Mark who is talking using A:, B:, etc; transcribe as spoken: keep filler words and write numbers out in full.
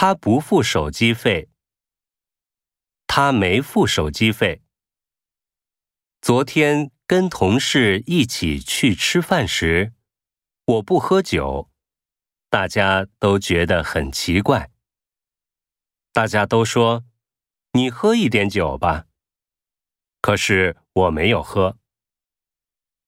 A: 他不付手机费。他没付手机费。昨天跟同事一起去吃饭时，我不喝酒，大家都觉得很奇怪。大家都说，你喝一点酒吧。可是我没有喝。